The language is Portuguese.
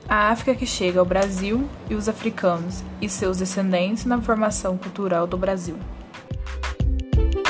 A África que chega ao Brasil e os africanos e seus descendentes na formação cultural do Brasil.